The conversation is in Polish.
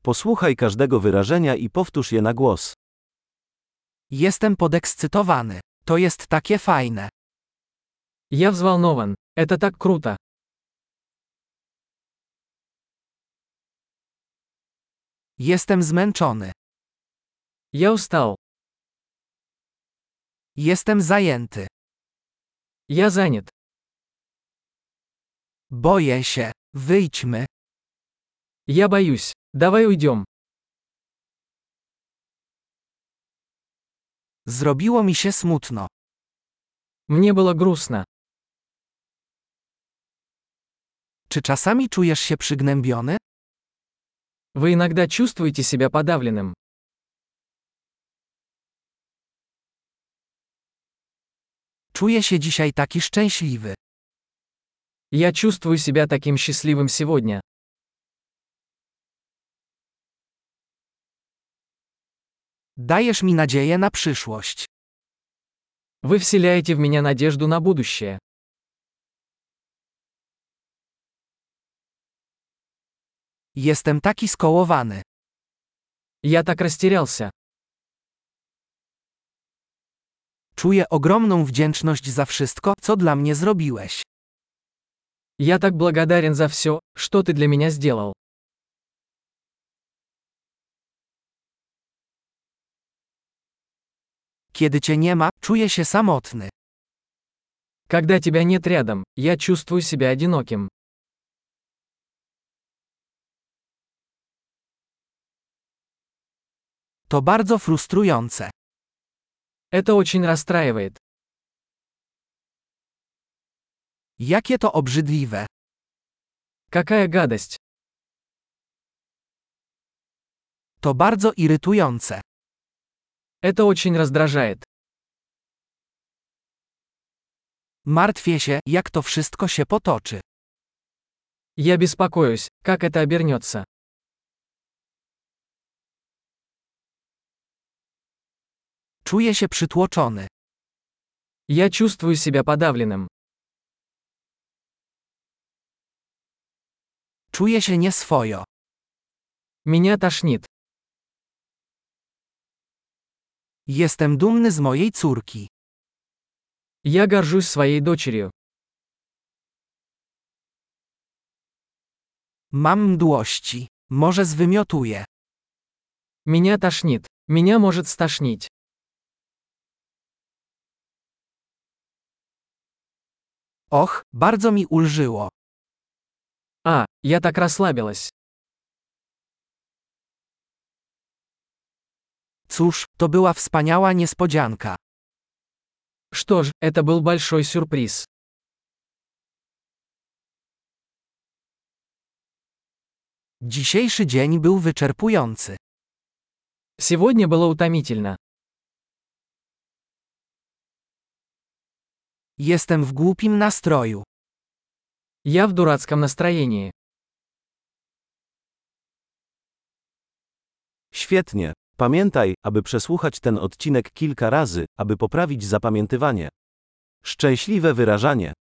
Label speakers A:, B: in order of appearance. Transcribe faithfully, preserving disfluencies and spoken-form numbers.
A: Posłuchaj każdego wyrażenia i powtórz je na głos.
B: Jestem podekscytowany. To jest takie fajne.
C: Я взволнован. Это так круто.
B: Jestem zmęczony.
C: Я устал.
B: Jestem zajęty.
C: Я занят.
B: Boję się. Wyjdźmy.
C: Я боюсь. Давай уйдем.
B: Zrobiło mi się smutno.
C: Мне было грустно.
B: Czy czasami czujesz się przygnębiony?
C: Вы иногда чувствуете себя подавленным.
B: Czuję się dzisiaj taki szczęśliwy.
C: Я чувствую себя таким счастливым сегодня.
B: Dajesz mi nadzieję na przyszłość.
C: Вы вселяете в меня надежду на будущее.
B: Jestem taki skołowany.
C: Я так растерялся.
B: Czuję ogromną wdzięczność za wszystko, co dla mnie zrobiłeś.
C: Я так благодарен за все, что ты для меня сделал.
B: Kiedy cię nie ma, czuję się samotny.
C: Когда тебя нет рядом, я чувствую себя одиноким.
B: To bardzo frustrujące.
C: Это очень расстраивает.
B: Jakie to obrzydliwe.
C: Какая гадость.
B: To bardzo irytujące.
C: Это очень раздражает.
B: Martwię się, jak to wszystko się potoczy.
C: Я беспокоюсь, как это обернется.
B: Czuję się przytłoczony.
C: Я чувствую себя подавленным.
B: Czuję się nieswojo.
C: Меня тошнит.
B: Jestem dumny z mojej córki.
C: Я горжусь своей дочерью.
B: Mam mdłości. Może zwymiotuję.
C: Меня тошнит. Меня может стошнить.
B: Och, bardzo mi ulżyło.
C: А, я так расслабилась.
B: Cóż, to była wspaniała niespodzianka.
C: Что ж, это был большой сюрприз.
B: Dzisiejszy dzień był wyczerpujący.
C: Сегодня было утомительно.
B: Jestem w głupim nastroju.
C: Я в дурацком настроении.
A: Świetnie. Pamiętaj, aby przesłuchać ten odcinek kilka razy, aby poprawić zapamiętywanie. Szczęśliwe wyrażanie.